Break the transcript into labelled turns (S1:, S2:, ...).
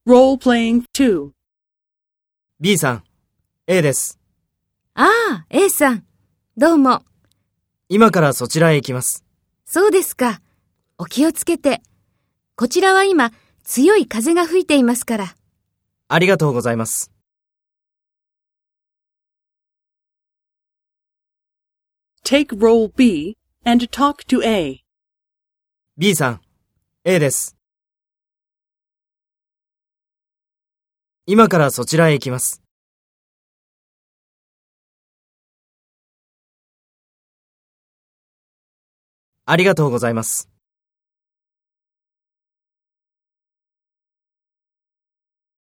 S1: Role-playing 2.
S2: B さん、A です。
S3: ああ、A さん。どうも。
S2: 今からそちらへ行きます。
S3: そうですか。お気をつけて。こちらは今、強い風が吹いていますから。
S2: ありがとうございます。
S1: Take role B and talk to A.
S2: B さん、A です。今からそちらへ行きます。ありがとうございます。